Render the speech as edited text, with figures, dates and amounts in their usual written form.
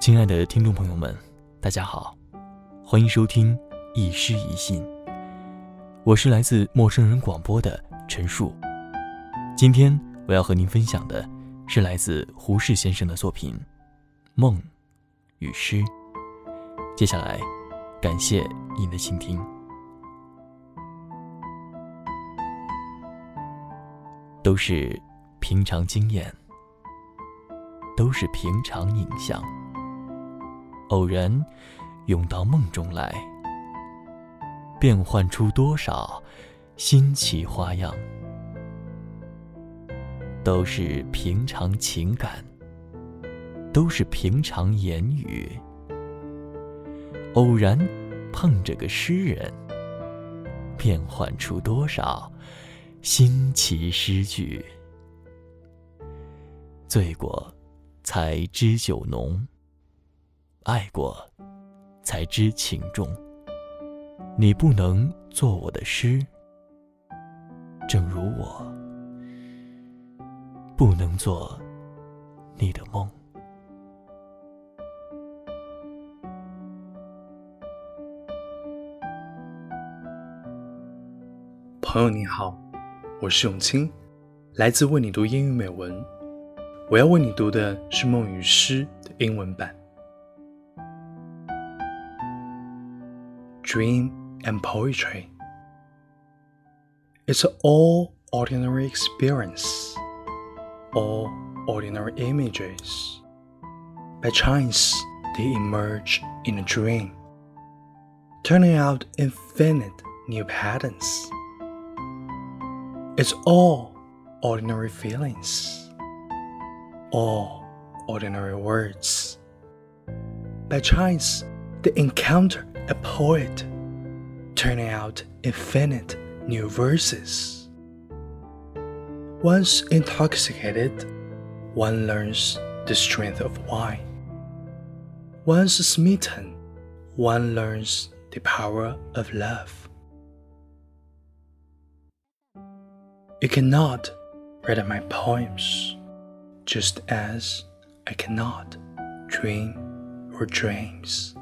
亲爱的听众朋友们，大家好，欢迎收听一诗一信，我是来自陌生人广播的陈述。今天我要和您分享的是来自胡适先生的作品《梦与诗》。接下来感谢您的倾听。都是平常经验，都是平常影像，偶然涌到梦中来，变换出多少新奇花样。都是平常情感，都是平常言语，偶然碰着个诗人，变换出多少新奇诗句。醉过才知酒浓，爱过才知情重。你不能做我的诗，正如我不能做你的梦。 朋友你好，我是永清，来自为你读英语美文。我要为你读的是《梦与诗》的英文版。Dream and poetry. It's an all ordinary experience, all ordinary images. By chance, they emerge in a dream, turning out infinite new patterns. It's all ordinary feelings, all ordinary words. By chance, they encounter a poet, turning out infinite new verses. Once intoxicated, one learns the strength of wine. Once smitten, one learns the power of love. You cannot read my poems, just as I cannot dream your dreams.